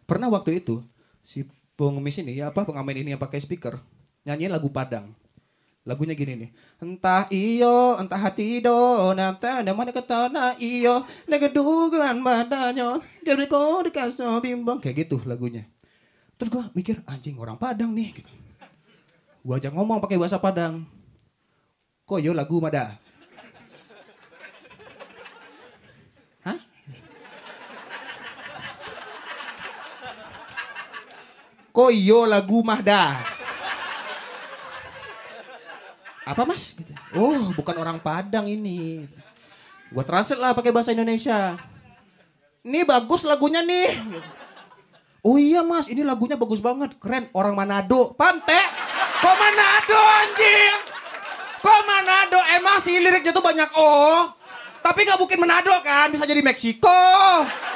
Pernah waktu itu si pengemis ini ya apa pengamen ini yang pakai speaker nyanyiin lagu Padang. Lagunya gini nih. Entah iyo, entah hati do, nafta mana kata na iyo, negadugan badannya, jadi kau dikasih bimbang kayak gitu lagunya. Terus gua mikir anjing orang Padang nih. Gitu. Gua ajak ngomong pakai bahasa Padang. Kok yo lagu mada? Hah? Kok yo lagu mahda? Apa mas? Gitu. Oh bukan orang Padang ini. Gua translate lah pakai bahasa Indonesia. Ini bagus lagunya nih. Oh iya mas, ini lagunya bagus banget, keren. Orang Manado, Pante. Kok Manado anjing? Kok Manado? Emang sih liriknya tuh banyak oh. Tapi gak mungkin Manado kan, bisa jadi Meksiko.